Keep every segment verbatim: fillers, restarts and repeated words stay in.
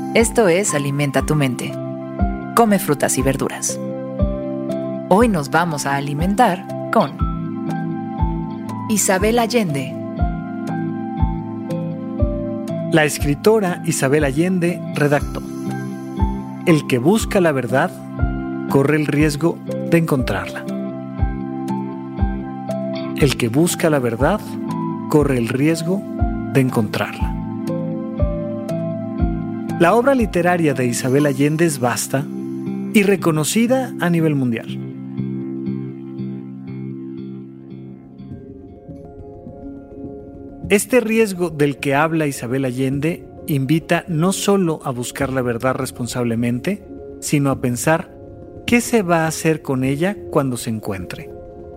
Esto es Alimenta tu mente. Come frutas y verduras. Hoy nos vamos a alimentar con Isabel Allende. La escritora Isabel Allende redactó: el que busca la verdad corre el riesgo de encontrarla. El que busca la verdad corre el riesgo de encontrarla. La obra literaria de Isabel Allende es vasta y reconocida a nivel mundial. Este riesgo del que habla Isabel Allende invita no solo a buscar la verdad responsablemente, sino a pensar qué se va a hacer con ella cuando se encuentre.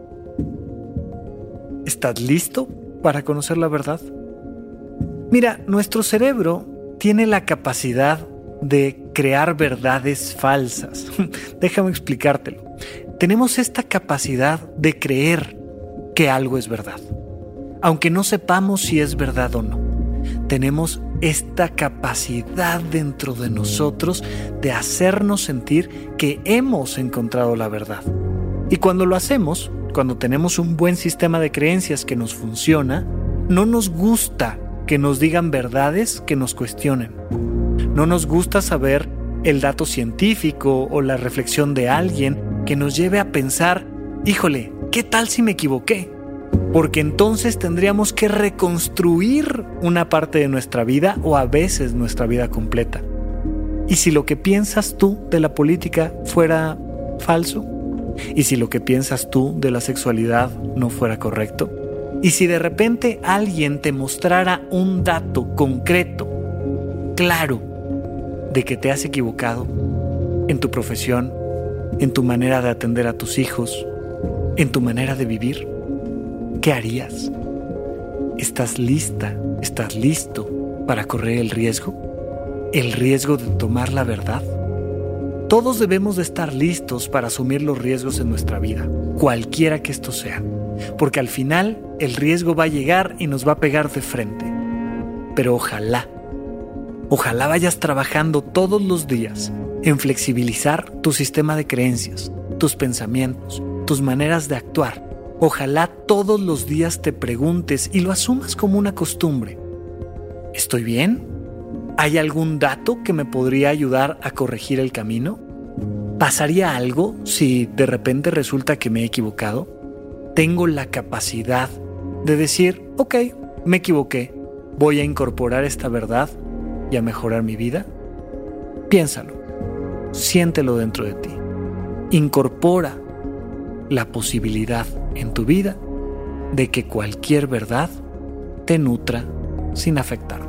¿Estás listo para conocer la verdad? Mira, nuestro cerebro tiene la capacidad de crear verdades falsas. Déjame explicártelo. Tenemos esta capacidad de creer que algo es verdad, aunque no sepamos si es verdad o no. Tenemos esta capacidad dentro de nosotros de hacernos sentir que hemos encontrado la verdad. Y cuando lo hacemos, cuando tenemos un buen sistema de creencias que nos funciona, no nos gusta que nos digan verdades que nos cuestionen. No nos gusta saber el dato científico o la reflexión de alguien que nos lleve a pensar, híjole, ¿qué tal si me equivoqué? Porque entonces tendríamos que reconstruir una parte de nuestra vida o a veces nuestra vida completa. ¿Y si lo que piensas tú de la política fuera falso? ¿Y si lo que piensas tú de la sexualidad no fuera correcto? ¿Y si de repente alguien te mostrara un dato concreto, claro, de que te has equivocado en tu profesión, en tu manera de atender a tus hijos, en tu manera de vivir? ¿Qué harías? ¿Estás lista? ¿Estás listo para correr el riesgo? ¿El riesgo de tomar la verdad? Todos debemos de estar listos para asumir los riesgos en nuestra vida, cualquiera que estos sean, porque al final el riesgo va a llegar y nos va a pegar de frente. Pero ojalá, ojalá vayas trabajando todos los días en flexibilizar tu sistema de creencias, tus pensamientos, tus maneras de actuar. Ojalá todos los días te preguntes y lo asumas como una costumbre. ¿Estoy bien? ¿Hay algún dato que me podría ayudar a corregir el camino? ¿Pasaría algo si de repente resulta que me he equivocado? ¿Tengo la capacidad de decir, ok, me equivoqué, voy a incorporar esta verdad y a mejorar mi vida? Piénsalo, siéntelo dentro de ti. Incorpora la posibilidad en tu vida de que cualquier verdad te nutra sin afectarte.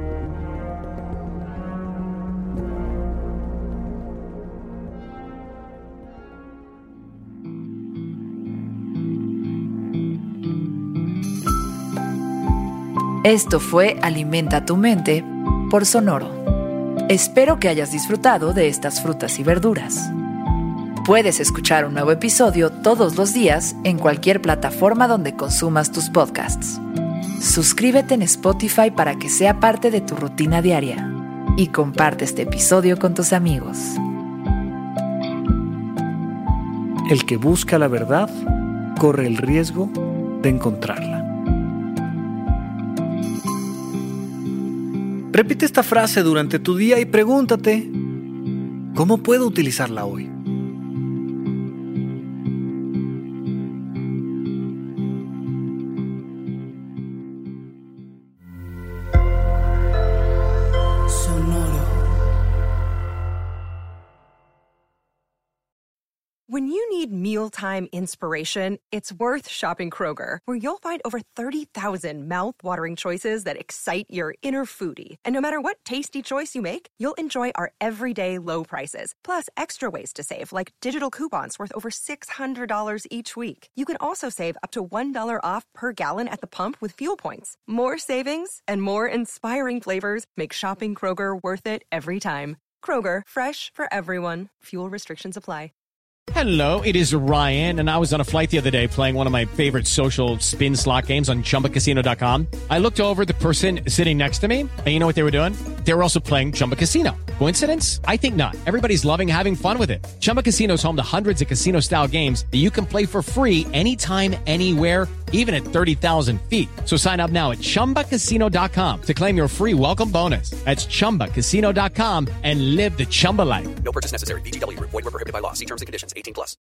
Esto fue Alimenta tu mente por Sonoro. Espero que hayas disfrutado de estas frutas y verduras. Puedes escuchar un nuevo episodio todos los días en cualquier plataforma donde consumas tus podcasts. Suscríbete en Spotify para que sea parte de tu rutina diaria y comparte este episodio con tus amigos. El que busca la verdad corre el riesgo de encontrarla. Repite esta frase durante tu día y pregúntate, ¿cómo puedo utilizarla hoy? When you need mealtime inspiration, it's worth shopping Kroger, where you'll find over thirty thousand mouth-watering choices that excite your inner foodie. And no matter what tasty choice you make, you'll enjoy our everyday low prices, plus extra ways to save, like digital coupons worth over six hundred dollars each week. You can also save up to one dollar off per gallon at the pump with fuel points. More savings and more inspiring flavors make shopping Kroger worth it every time. Kroger, fresh for everyone. Fuel restrictions apply. Hello, it is Ryan, and I was on a flight the other day playing one of my favorite social spin slot games on Chumba Casino dot com. I looked over at the person sitting next to me, and you know what they were doing? They were also playing Chumba Casino. Coincidence? I think not. Everybody's loving having fun with it. Chumba Casino is home to hundreds of casino-style games that you can play for free anytime, anywhere, even at thirty thousand feet. So sign up now at chumba casino dot com to claim your free welcome bonus. That's chumba casino dot com and live the Chumba life. No purchase necessary. V G W. Void where prohibited by law. See terms and conditions. eighteen plus.